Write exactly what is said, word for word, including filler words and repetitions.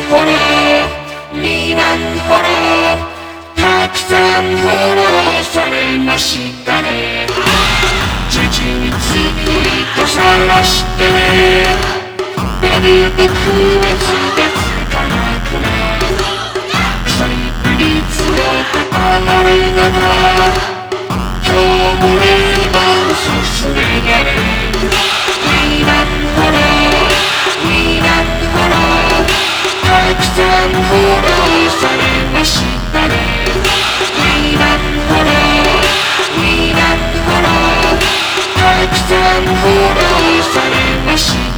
フォローにまんフォローたくさんフォローされましたね。事実ツイート晒してね。なるべく別々かなくな再利率を高れながら今日もレーバー進められにまんフォローにまんフォローたくさんフォローされましたね。にまんフォローにまんフォローたくさんフォローされました。